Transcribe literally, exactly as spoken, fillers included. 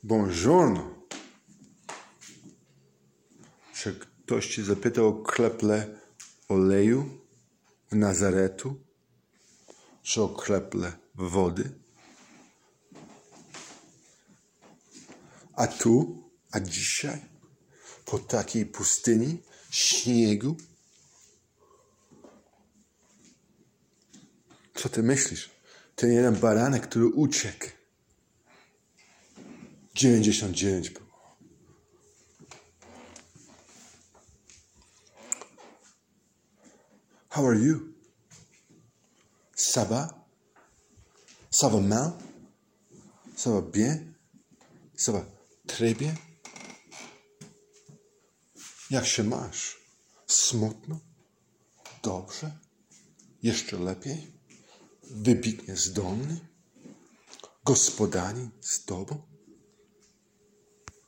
Buongiorno. Czy ktoś cię zapytał o kreple oleju w Nazaretu? Czy o kreple wody? A tu, a dzisiaj, po takiej pustyni, śniegu? Co ty myślisz? Ten jeden baranek, który uciekł. dziewięćdziesiąt dziewięć było. How are you? Ça va? Ça va mal? Ça va bien? Ça va très bien? Jak się masz? Smutno? Dobrze? Jeszcze lepiej? Wybitnie zdolny? Gospodarin z tobą?